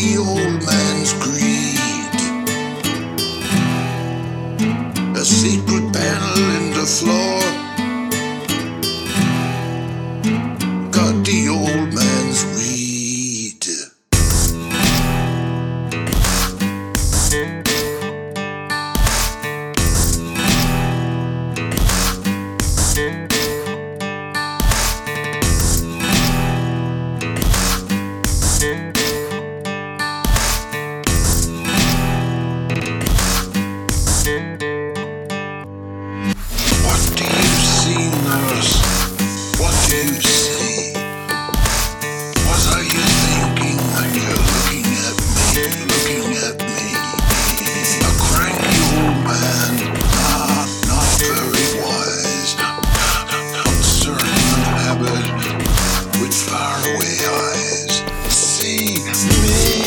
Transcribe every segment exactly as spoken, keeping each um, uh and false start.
the old man's greed. A secret panel in the floor got the old man's weed. What do you see, nurse? What do you see? What are you thinking when you're looking at me, looking at me? A cranky old man, not, not very wise, uncertain of habit, with faraway eyes. See me.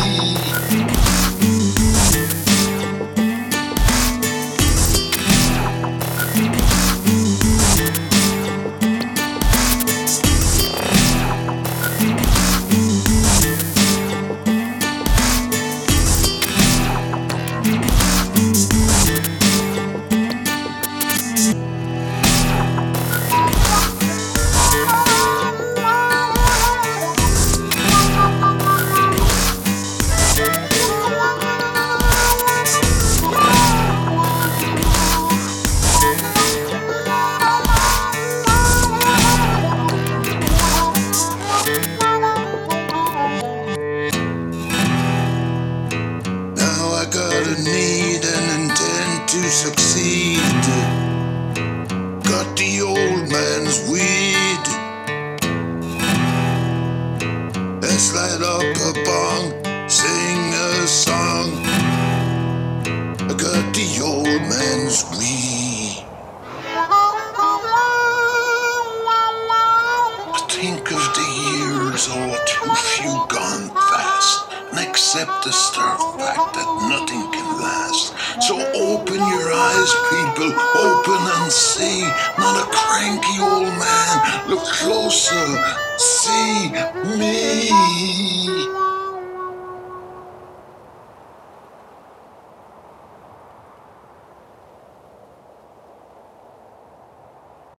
Got a need and intend to succeed. Got the old man's weed. Let's light up a bong, sing a song. I got the old man's weed. I think of the years, all too few gone fast, and accept the stark fact that nothing can last. So open your eyes, people, open and see. Not a cranky old man, look closer, see me.